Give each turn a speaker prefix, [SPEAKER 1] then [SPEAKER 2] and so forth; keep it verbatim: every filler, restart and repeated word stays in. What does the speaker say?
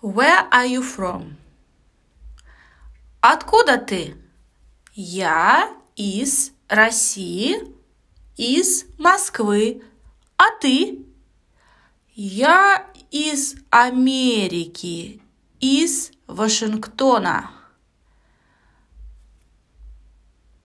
[SPEAKER 1] Where are you from? Откуда ты? Я из России, из Москвы. А ты? Я из Америки, из Вашингтона.